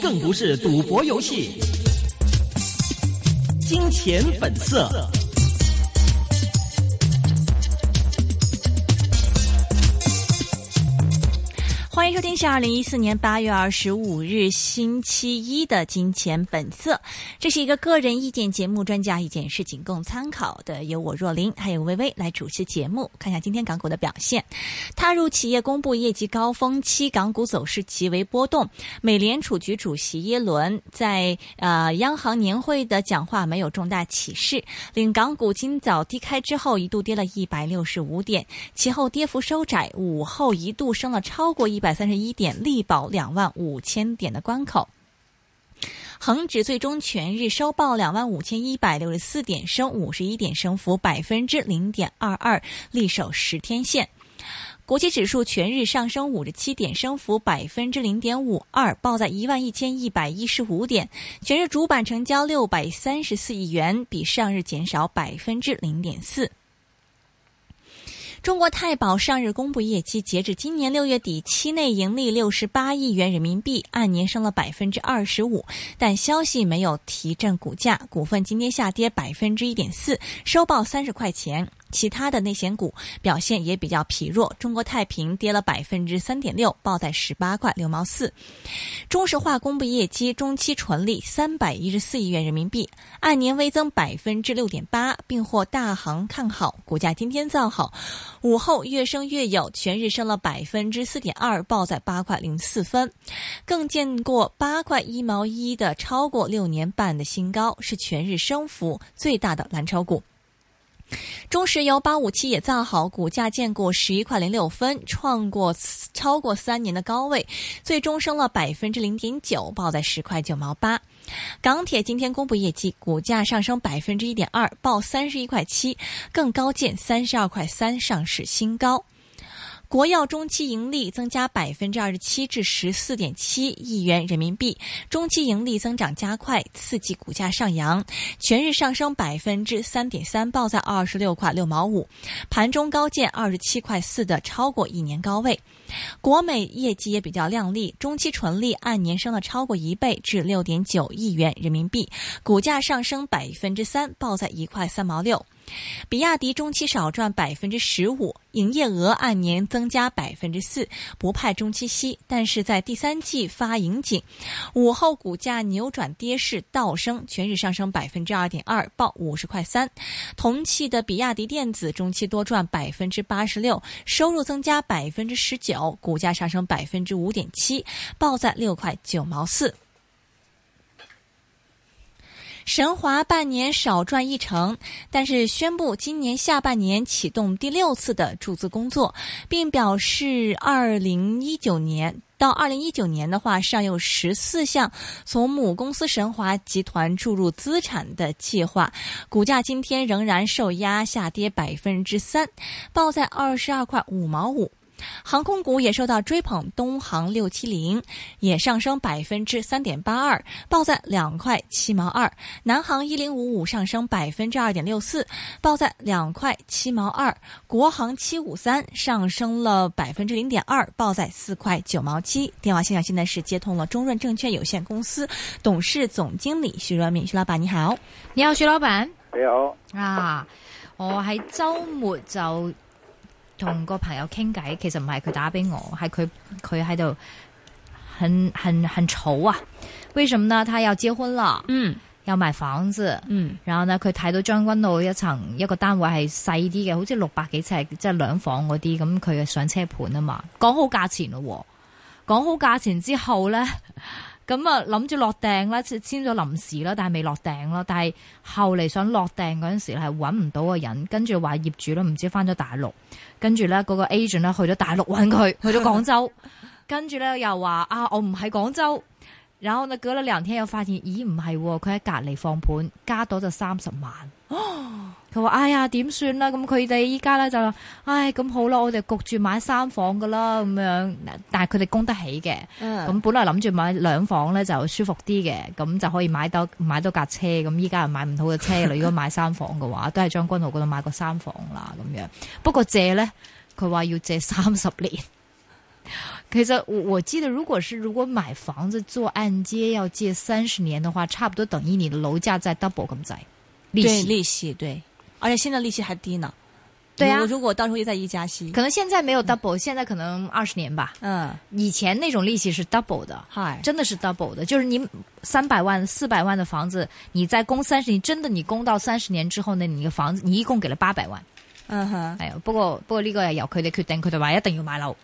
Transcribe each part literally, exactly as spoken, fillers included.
更不是赌博游戏。金钱本色。 欢迎收听是二零一四年八月二十五日星期一的金钱本色，这是一个个人意见节目，专家意见是仅供参考的，由我若琳还有微微来主持节目。看一下今天港股的表现，踏入企业公布业绩高峰期，港股走势极为波动。美联储局主席耶伦在呃央行年会的讲话没有重大启示，令港股今早低开之后一度跌了一百六十五点，其后跌幅收窄，午后一度升了超过一百三十一点，力保两万五千点的关口。恒指最终全日收报两万五千一百六十四点，升五十一点，升幅百分之零点二二，力守十天线。国际指数全日上升五十七点，升幅百分之零点五二，报在一万一千一百一十五点。全日主板成交六百三十四亿元，比上日减少百分之零点四。中国太保上日公布业绩，截至今年六月底，期内盈利六十八亿元人民币，按年升了百分之二十五，但消息没有提振股价，股份今天下跌百分之一点四，收报三十块钱。其他的内险股表现也比较疲弱，中国太平跌了百分之三点六，报在十八块六毛四。中石化公布业绩，中期纯利三百一十四亿元人民币，按年微增百分之六点八，并获大行看好，股价今天造好，午后越升越有，全日升了百分之四点二，报在八块零四分，更见过八块一毛一的超过六年半的新高，是全日升幅最大的蓝筹股。中石油八五七也造好，股价见过十一块零六分，创过超过三年的高位，最终升了百分之零点九，报在十块九毛八。港铁今天公布业绩，股价上升百分之一点二，报三十一块七，更高见三十二块三，上市新高。国药中期盈利增加百分之二十七至十四点七亿元人民币，中期盈利增长加快，刺激股价上扬，全日上升百分之三点三，报在二十六块六毛五，盘中高见二十七块四的超过一年高位。国美业绩也比较亮丽，中期纯利按年升了超过一倍至六点九亿元人民币，股价上升百分之三，报在一块三毛六。比亚迪中期少赚百分之十五，营业额按年增加百分之四，不派中期息，但是在第三季发盈警，午后股价扭转跌势倒升，全日上升百分之二点二，报五十块三。同期的比亚迪电子中期多赚百分之八十六，收入增加百分之十九，股价上升百分之五点七，报在六块九毛四。神华半年少赚一成，但是宣布今年下半年启动第六次的注资工作，并表示二零一九年到二零一九年的话，尚有十四项从母公司神华集团注入资产的计划。股价今天仍然受压，下跌百分之三，报在二十二块五毛五。航空股也受到追捧，东航六七零也上升百分之三点八二，报在两块七毛二。南航一零五五上升百分之二点六四，报在两块七毛二。国航七五三上升了百分之零点二，报在四块九毛七。电话线上现在是接通了中润证券有限公司董事总經理徐潤民，徐老闆你好。 你好，徐老闆。 你好。 啊，我喺週末就同個朋友傾偈，其實唔係佢打俾我，係佢佢喺度很很很愁啊。為什麼呢？他要結婚了，嗯，要買房子，嗯，然後呢佢睇到將軍澳一層一個單位係細啲嘅，好似六百幾尺，即係兩房嗰啲，咁佢嘅上車盤啊嘛，講好價錢咯，講好價錢之後咧。咁啊，諗住落訂啦，簽咗臨時啦，但係未落訂咯。但係後嚟想落訂嗰陣時係揾唔到個人，跟住話業主咧唔知翻咗大陸，跟住咧嗰個 agent 咧去咗大陸揾佢，去咗廣州，跟住咧又話啊我唔喺廣州，然後呢隔咗兩天又發現，咦唔係，佢喺隔離放盤，加多就三十萬。佢話哎呀點算啦？咁佢哋依家咧就唉咁好啦，我哋焗住買三房噶啦咁樣，但係佢哋供得起嘅。咁、嗯、本來諗住買兩房咧就舒服啲嘅，咁就可以買到買到架車。咁依家又買唔到嘅車啦。如果買三房嘅話，都係將軍澳嗰度買個三房啦咁樣。不過借咧，佢話要借三十年。 其實我我記得，如果是如果買房子做按揭要借三十年的話，差不多等於你的樓價再 double 咁滯，利息對利息對，而且現在利息還低呢。 對啊， 如果到時候又再一加息， 可能現在沒有 double，、嗯、現在可能二十年吧。嗯，以前那種利息是 double 的，係真的是 double 的，就是你三百萬、四百萬的房子，你再供三十年，真的你供到三十年之後呢，你嘅房子你一共給了八百萬。嗯哼，係啊，不過不過呢個係由佢哋決定，佢哋話一定要買樓。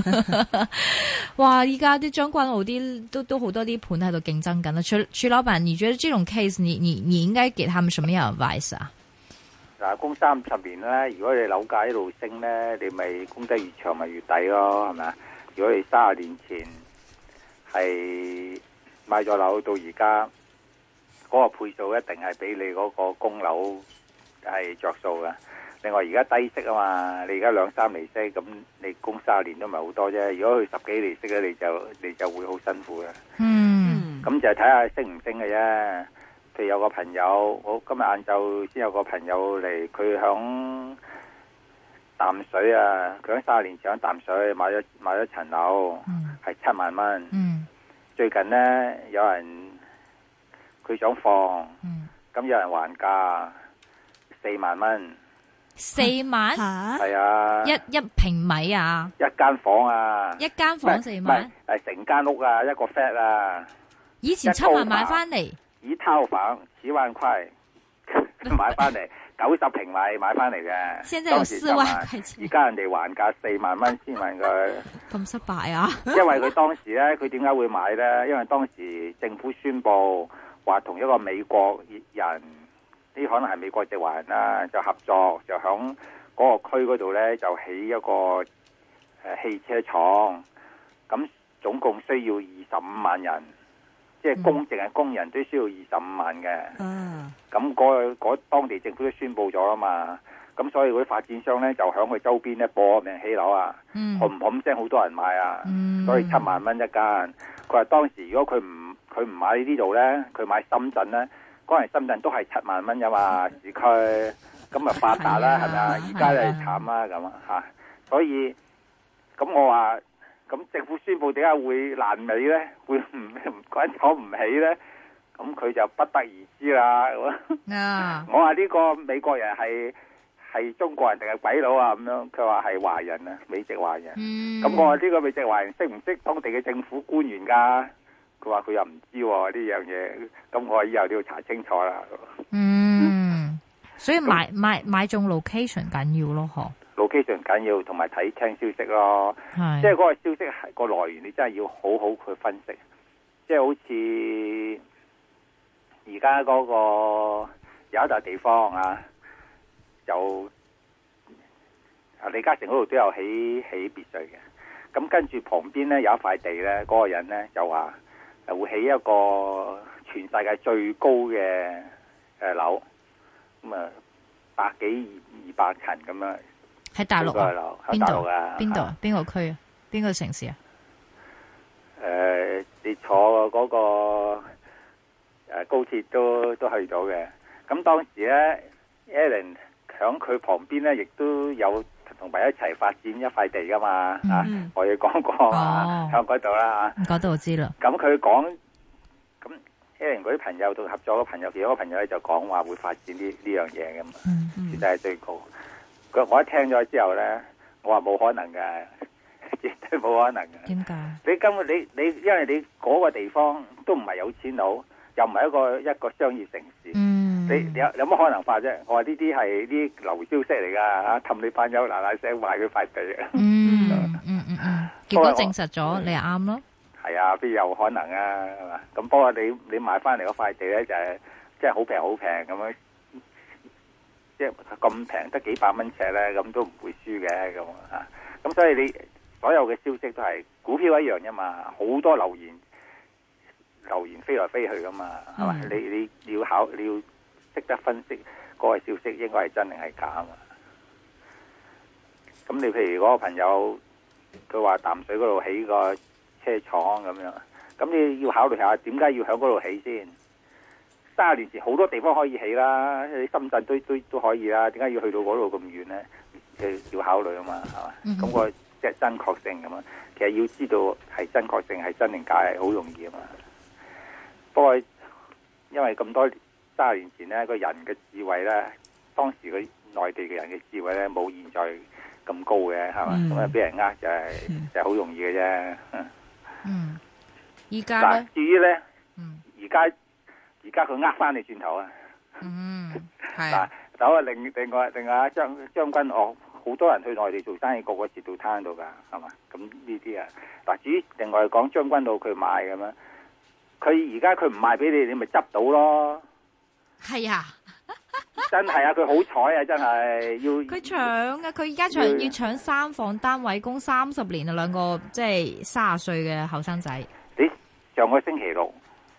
哇！依家啲將軍澳啲都都好多啲盤喺度競爭緊啦。徐徐老闆，你覺得這種 case，你你你應該給他們什麼樣的 advice 啊？ 嗱，供三十年咧，如果你樓價一路升咧，你咪供得越長咪越抵咯，係咪啊？如果你三十年前係買咗樓到而家，嗰個倍數一定係比你嗰個供樓係着數嘅。另外而家低息啊嘛，你而家兩三厘息，咁你供三十年都唔係好多啫。如果佢十幾厘息咧，你就你就會好辛苦嘅。嗯，咁就睇下升唔升嘅啫。譬如有個朋友，我今日晏晝先有個朋友嚟，佢響淡水啊，佢響三十年前響淡水買咗買咗層樓，係七萬蚊。嗯，最近咧有人佢想放，咁、嗯、有人還價四萬蚊。 四萬係啊， 一一平米啊， 一間房啊， 一間房四萬， 係成間屋啊，一個 flat 啊。 以前七萬買翻嚟， 一套房十萬塊買翻嚟，九十平米買翻嚟嘅。 現在有四萬塊錢， 而家人哋還價四萬蚊先問佢， 咁失敗啊！ 因為佢當時咧，佢點解會買咧？因為當時政府宣布話同一個美國人。呢可能係美國籍華人啦，就合作就響嗰個區嗰度咧，就起一個誒、呃、汽車廠，咁總共需要二十五萬人，即係工淨係工人都需要二十五萬嘅。嗯，咁嗰嗰當地政府都宣布咗啦嘛，咁所以嗰啲發展商咧就響佢周邊咧搏命起樓啊，冚冚聲好多人買啊，嗯、所以七萬蚊一間。佢話當時如果佢唔佢唔買呢度咧，佢買深圳咧。嗰陣深圳都係七萬蚊啫嘛，市區咁咪發達啦，係咪啊？而家就慘啦咁啊嚇，所以咁我話咁政府宣布點解會爛尾咧？會唔唔間廠唔起咧？咁佢就不得而知啦。啊！我話呢個美國人係係中國人定係鬼佬啊？咁樣佢話係華人啊，美籍華人。咁、嗯、我話呢個美籍華人識唔識當地嘅政府官員㗎？佢話佢又唔知喎呢樣嘢，咁我以後都要查清楚啦。 嗯，所以買買買中 location 緊要咯，嗬 ？location 緊要，同埋睇聽消息咯。係，即係嗰個消息係個來源，你真係要好好去分析。即係好似而家嗰個有一笪地方啊，就李嘉誠嗰度都有起起別墅嘅。咁跟住旁邊咧有一塊地咧，嗰、嗰個人咧就話。會起一個全世界最高嘅誒樓，咁啊百幾二百層咁樣。喺大陸啊？邊度啊？ 邊度啊？邊個區啊？邊個城市啊？ 誒、呃，你坐嗰個誒高鐵都都去到嘅。咁當時咧 ，Alan 響佢旁邊咧，亦都有同埋一齊發展一塊地噶嘛，嗯、啊，我亦講過啊，響嗰度啦， 嗰度我知啦。 咁佢講，咁 Aaron 嗰啲朋友同合作嘅朋友，其中一個朋友咧就講話會發展呢呢樣嘢噶嘛，絕對係最高。佢我一聽咗之後咧，我話冇可能嘅，絕對冇可能嘅。點解？你根本你你，因為你嗰個地方都唔係有錢佬，又唔係一個一個商業城市。嗯你有有乜可能發啫？我話呢啲係啲流消息嚟噶吓，氹你班友嗱嗱聲買佢塊地啊！ 嗯嗯嗯嗯，結果證實咗你係啱咯。 係啊，邊有可能啊？係嘛？咁不過你你買翻嚟嗰塊地咧，就係即係好平好平咁樣，即係咁平得幾百蚊尺咧，咁都唔會輸嘅咁啊！咁所以你所有嘅消息都係股票一樣啫嘛，好多流言流言飛來飛去噶嘛，係嘛？你你你要考你要。識得分析嗰個消息應該係真定係假嘛？咁你譬如嗰個朋友佢話淡水嗰度起個車廠咁樣，咁你要考慮下點解要喺嗰度起先？三十年前好多地方可以起啦，你深圳都都都可以啦，點解要去到嗰度咁遠咧？要考慮啊嘛，係嘛？咁、嗯、個即係真確性咁啊。其實要知道係真確性係真定假係好容易啊嘛。不過因為咁多三十年前咧，個人嘅智慧咧，當時個內地嘅人嘅智慧咧，冇現在咁高嘅，係嘛？咁啊俾人呃就係、是嗯、就係、是、好容易嘅啫。 嗯，依家咧， 至於咧， 嗯， 而家而家佢呃翻你轉頭啊。 嗯，係。 嗱，咁啊，另另外另外將將軍澳好多人去內地做生意，個個截到攤度噶，係嘛？咁呢啲啊，嗱，至於另外講將軍澳佢賣咁樣，佢而家佢唔賣俾你，你咪執到咯。 係啊， 真係啊，佢好彩啊，真係要佢搶啊，佢而家搶要搶三房單位供三十年啊，兩個即係卅歲嘅後生仔。 你上個星期六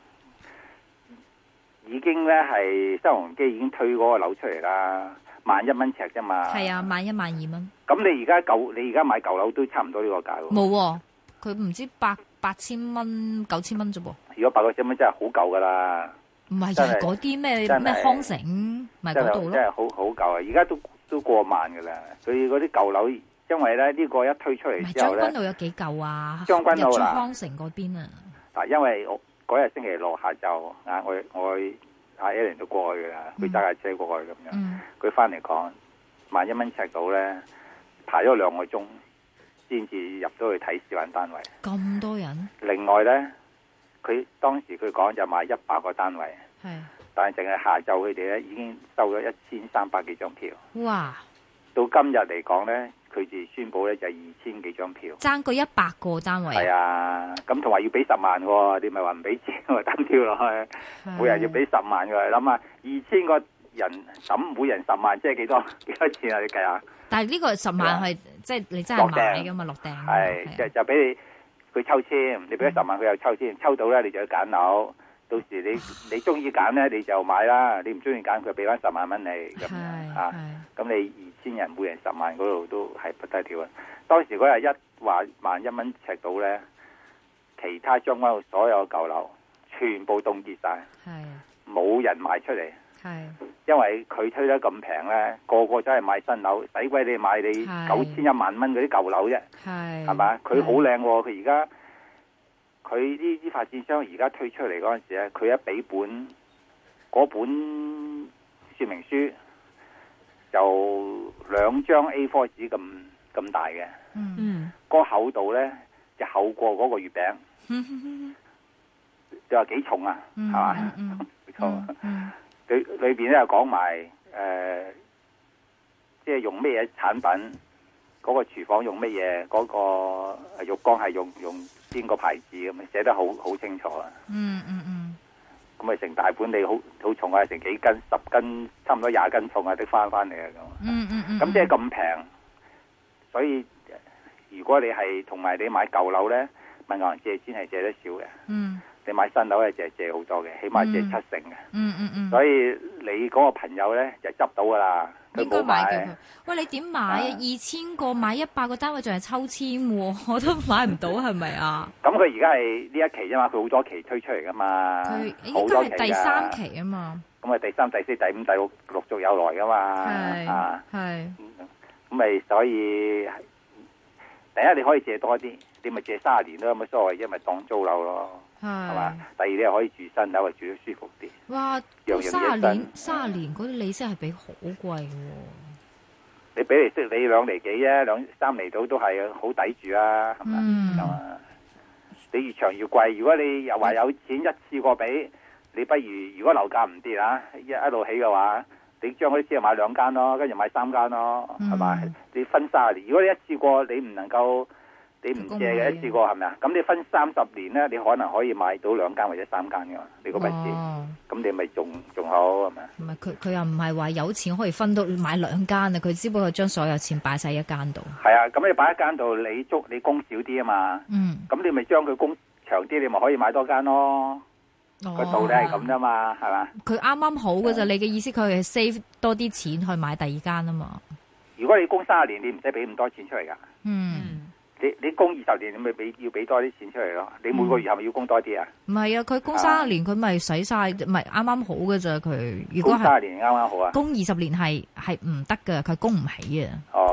已經咧係新鴻基已經推嗰個樓出嚟啦，萬一蚊尺啫嘛。係啊，萬一萬二蚊。 咁你而家舊你而家買舊樓都差唔多呢個價喎。冇， 佢唔知八八千蚊九千蚊啫噃。 如果八九千蚊真係好舊噶啦。 唔係就係嗰啲咩咩康城，咪嗰度咯。真係好好舊啊！而家都都過萬噶啦。佢嗰啲舊樓，因為咧呢個一推出嚟之後咧， 將軍澳有幾舊啊？ 將軍澳啦， 康城嗰邊啊。 嗱，因為我嗰日星期六下晝啊，我我阿 Ellen 都過去噶啦，佢揸架車過去咁樣。佢翻嚟講，萬一蚊尺到咧，排咗兩個鐘先至入到去睇示範單位。 咁多人？ 另外咧。佢當時佢講就賣一百個單位，係，但係淨係下晝佢哋咧已經收咗一千三百幾張票。 哇！到今日嚟講咧，佢哋宣布咧就係二千幾張票， 爭過一百個單位。 係啊，咁同埋要俾十萬喎，你咪話唔俾錢我單票落去，每人要俾十萬嘅，諗下二千個人抌每人十萬，即係幾多幾多錢啊？你計下。但係呢個十萬係即係你真係買㗎嘛？落訂係就就俾你。佢抽籤，你俾咗十萬，佢又抽籤，抽到咧你就要揀樓。到時你你中意揀咧，你就買啦。你唔中意揀，佢俾翻十萬蚊你咁樣啊。咁你二千人每人十萬嗰度都係不得了啊！當時嗰日一話萬一蚊尺到咧，其他將軍澳所有舊樓全部凍結晒，冇人賣出嚟。係，因為佢推得咁平咧，個個都係買新樓，使鬼你買你九千一萬蚊嗰啲舊樓啫，係，係嘛？佢好靚喎，佢而家佢呢啲發展商而家推出嚟嗰陣時咧，佢一俾本嗰本說明書就兩張 A 四 紙咁咁大嘅，嗯，個厚度咧就厚過嗰個月餅，嗯，就話幾重啊，係嘛？冇錯。裏裏邊咧又講埋誒，即係用咩嘢產品，嗰個廚房用咩嘢，嗰個浴缸係用用邊個牌子咁啊，寫得好好清楚啊。嗯嗯嗯。咁咪成大本你好好重啊，成幾斤十斤，差唔多廿斤重啊，的翻翻嚟啊咁。嗯嗯嗯。咁即係咁平，所以如果你係同埋你買舊樓咧，問銀行借錢係借得少嘅。嗯。你買新樓咧就係借好多嘅，起碼借七成嘅。嗯嗯嗯。所以你嗰個朋友咧就執到噶啦，佢冇買。 喂，你點買啊？二千個買一百個單位，仲係抽籤，我都買唔到，係咪啊？ 咁佢而家係呢一期啫嘛，佢好多期推出嚟噶嘛。佢應該係第三期啊嘛。 咁啊，第三、第四、第五、第六陸續有來噶嘛。係啊，係。咁咪所以第一你可以借多啲，你咪借卅年都有乜所謂，因為當租樓咯。係嘛？第二你又可以住新樓，住得舒服啲。哇！ 卅年卅年嗰啲利息係俾好貴嘅。 你俾利息你兩厘幾啫，兩三厘到都係好抵住啊，係嘛？咁啊，你越長越貴。如果你又話有錢一次過俾，你不如如果樓價唔跌啊，一一路起嘅話，你將嗰啲錢買兩間咯，跟住買三間咯，係嘛？你分卅年，如果你一次過你唔能夠。你唔借嘅一次過係咪啊？咁你分三十年咧，你可能可以買到兩間或者三間嘅嘛？你個筆錢，咁、哦、你咪仲仲好係咪？ 唔係佢佢又唔係話有錢可以分到買兩間啊！佢只不過將所有錢擺晒一間度。 係啊，咁你擺一間度，你租你供少啲啊嘛。嗯。咁你咪將佢供長啲，你咪可以買多間咯。個、哦、道理係咁啫嘛，係嘛？ 佢啱啱好嘅咋？你嘅意思佢係 save 多啲錢去買第二間啊嘛？ 如果你供三十年，你唔使俾咁多錢出嚟噶。嗯。你你供二十年，你咪俾要俾多啲錢出嚟咯。你每個月係咪要供多啲啊？ 唔係啊，佢供三十年，佢咪使晒，唔係啱啱好嘅咋佢。如果供三十年啱啱好啊。 供二十年係係唔得噶，佢供唔起啊。 哦，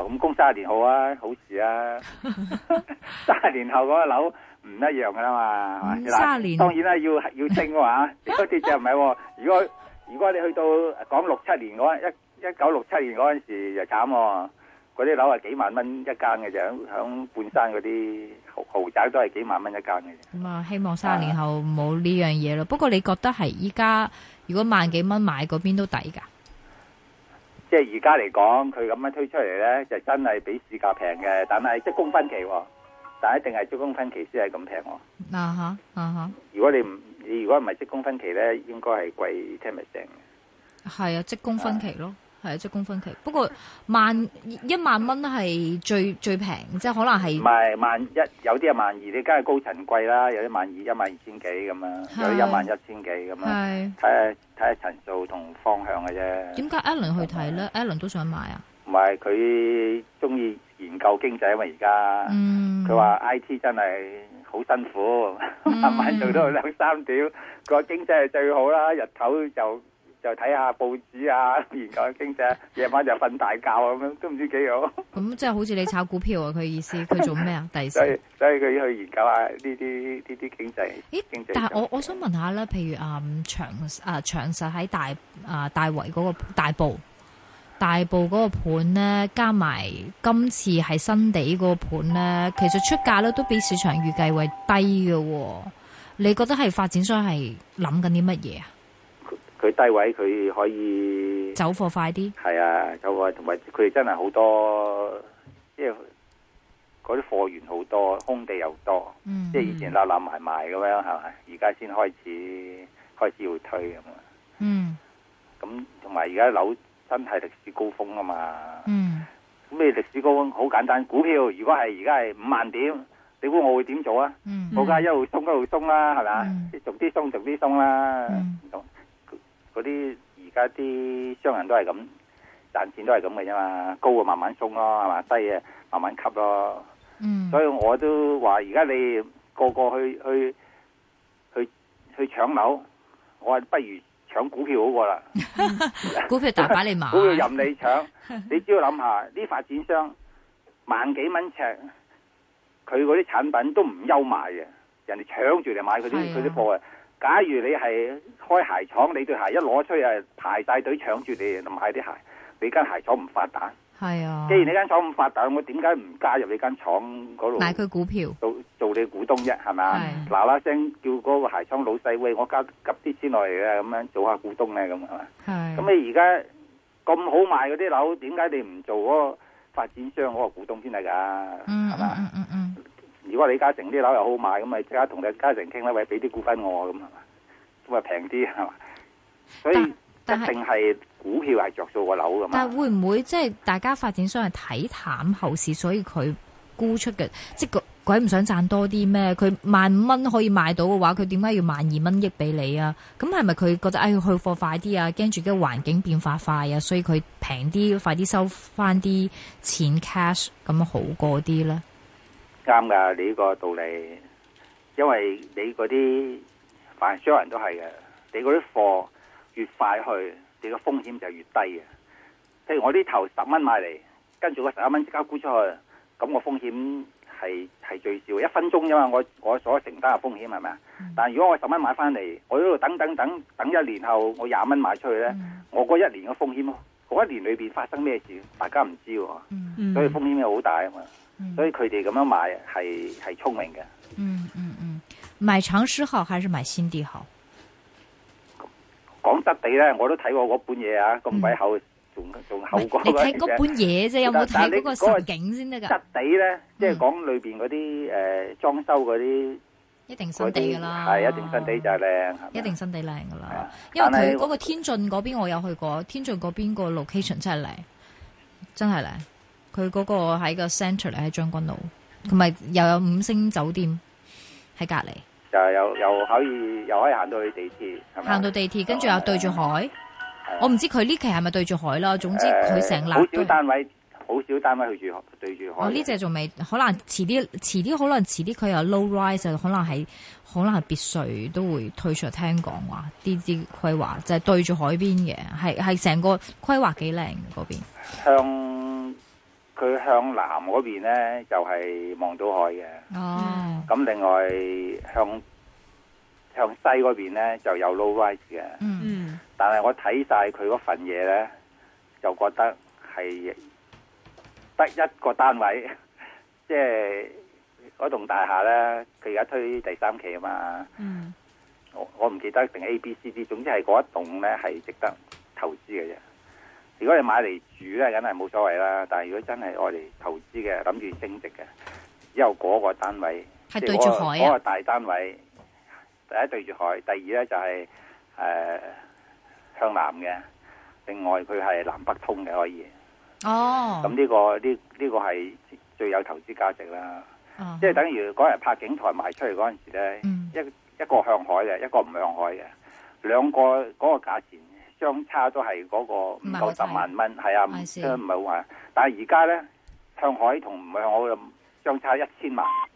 咁供三十年好啊，好事啊。三十年後嗰個樓唔一樣噶啦嘛， 嗯、三十年當然啦，要要升嘅話，嗰啲就唔係。如果如果你去到講六七年嗰一一九六七年嗰陣時就慘喎，嗰啲樓係幾萬蚊一間嘅啫，響半山嗰啲豪豪宅都係幾萬蚊一間嘅啫。 咁啊，希望三十年後冇呢樣嘢咯。不過你覺得係依家如果萬幾蚊買嗰邊都抵㗎？ 即係而家嚟講，佢咁樣推出嚟咧，就真係比市價平嘅，但係即係供分期，但係一定係即供分期先係咁平。 啊哈啊哈！ 如果你唔你如果唔係即供分期咧，應該係貴ten percent嘅。 係啊，即供分期咯，係啊，即供分期。不過萬一萬蚊係最最平，即係可能係。唔係萬一，有啲係萬二，你梗係高層貴啦，有啲萬二一萬二千幾咁樣，有啲一萬一千幾咁樣。係睇下睇下層數同方向嘅啫。點解 Alan 去睇咧 ？Alan 都想買啊？唔係佢中意研究經濟啊嘛，而家。嗯。佢話 I T 真係好辛苦，慢慢做到兩三點，佢話經濟係最好啦，日頭就。就睇下報紙啊，研究經濟，夜晚就瞓大覺咁樣，都唔知幾好。咁即係好似你炒股票啊？佢意思佢做咩啊？第時所以所以佢要去研究下呢啲呢啲經濟。咦？經濟但係我我想問下咧，譬如啊、嗯、長啊長實喺大啊大圍嗰個大埔大埔嗰個盤咧，加埋今次係新地嗰個盤咧，其實出價咧都比市場預計為低嘅。你覺得係發展商係諗緊啲乜嘢啊？佢低位佢可以走貨快啲，係啊，走貨同埋佢哋真係好多，即係嗰啲貨源好多，空地又多，嗯、即係以前攬攬埋埋咁樣係咪？而家先開始開始要推咁啊。嗯，咁同埋而家樓真係歷史高峰啊嘛。嗯，咁你歷史高峰好簡單，股票如果係而家係五萬點，你估我會點做啊？嗯，我梗係一路鬆一路鬆啦，係咪啊？逐啲鬆逐啲鬆啦。嗯嗰啲而家啲商人都係咁賺錢都係咁嘅啫嘛，高啊慢慢鬆咯，係嘛，低啊慢慢吸咯。嗯，所以我都話而家你個個去去去去搶樓，我話不如搶股票好過啦。股票大把你買，股票任你搶。你只要諗下，啲發展商萬幾蚊尺，佢嗰啲產品都唔憂賣嘅，人哋搶住嚟買佢啲佢啲貨啊。假如你係開鞋廠，你對鞋一攞出去啊，排晒隊搶住你買啲鞋，你間鞋廠唔發達。係啊，既然你間廠唔發達，我點解唔加入你間廠嗰度買佢股票，做做你股東啫？係咪啊？嗱嗱聲叫嗰個鞋廠老細，喂，我加夾啲錢落嚟嘅，咁樣做下股東咧，咁係嘛？係。咁你而家咁好賣嗰啲樓，點解你唔做嗰個發展商嗰個股東先係噶？嗯，係嘛？嗯嗯嗯。如果李嘉誠啲樓又好賣，咁咪即刻同李嘉誠傾啦，喂，俾啲股份我咁係嘛，咁啊平啲係嘛，所以一定係股票係着數個樓噶嘛。但係會唔會即係大家發展商係睇淡後市，所以佢沽出嘅？即係鬼唔想賺多啲咩？佢萬五蚊可以賣到嘅話，佢點解要萬二蚊億俾你啊？咁係咪佢覺得哎去貨快啲啊？驚住嘅環境變化快啊，所以佢平啲，快啲收翻啲錢 cash 咁好過啲咧？啱噶，你呢個道理，因為你嗰啲凡商人都係嘅，你嗰啲貨越快去，你個風險就越低嘅。譬如我啲頭十蚊買嚟，跟住個十一蚊即刻沽出去，咁我風險係係最少，一分鐘啫嘛。我我所承擔嘅風險係咪啊？嗯、但係如果我十蚊買翻嚟，我喺度等等等等一年後，我廿蚊賣出去咧，嗯、我嗰一年嘅風險，嗰一年裏邊發生咩事，大家唔知喎，嗯、所以風險又好大啊嘛。嗯、所以佢哋咁樣買係係聰明嘅。嗯嗯嗯，買長實好還是買新地好？講質地咧，我都睇過嗰本嘢啊，咁鬼厚，仲仲厚過。你睇嗰本嘢啫，有冇睇嗰個實景先得噶？質地咧，即係講裏邊嗰啲誒裝修嗰啲，一定新地噶啦，係一定新地就係靚，一定新地靚噶啦。因為佢嗰個天晉嗰邊我有去過，天晉嗰邊個 location 真係靚，真係靚。佢嗰個喺個 centre 嚟，喺將軍澳，同埋又有五星酒店喺隔籬，就又又可以又可以行到去地鐵，行到地鐵，跟住又對住海。我唔知佢呢期係咪對住海啦。總之佢成立好少單位，好少單位去住對住海。哦，呢隻仲未，可能遲啲，遲啲可能遲啲佢有 low rise，可能係可能係別墅都會推出。聽講話啲啲規劃就係對住海邊嘅，係係成個規劃幾靚嘅嗰邊。向佢向南嗰邊咧就係、是、望到海嘅。 哦。 咁另外向向西嗰邊咧就有 low rise 嘅。 嗯。 但係我睇晒佢嗰份嘢咧，就覺得係得一個單位，即係嗰棟大廈咧，佢而家推第三期啊嘛。 嗯。 我我唔記得定 A、B、C、D， 總之係嗰一棟咧係值得投資嘅啫。如果你買嚟住咧，梗係冇所謂啦。但係如果真係愛嚟投資嘅，諗住升值嘅，只有嗰個單位係對住海啊。 嗰個大單位，第一對住海，第二咧就係、是、誒、呃、向南嘅。另外佢係南北通嘅可以。 哦。 咁呢、這個呢呢、這個係最有投資價值啦。 哦、 即係等於嗰日柏景台賣出嚟嗰陣時咧， 嗯、 一一個向海嘅，一個唔向海嘅，兩個嗰個價錢。相差都係嗰個唔夠十萬蚊，係啊，唔唔係好話。但係而家咧，向海同唔向海相差一千萬，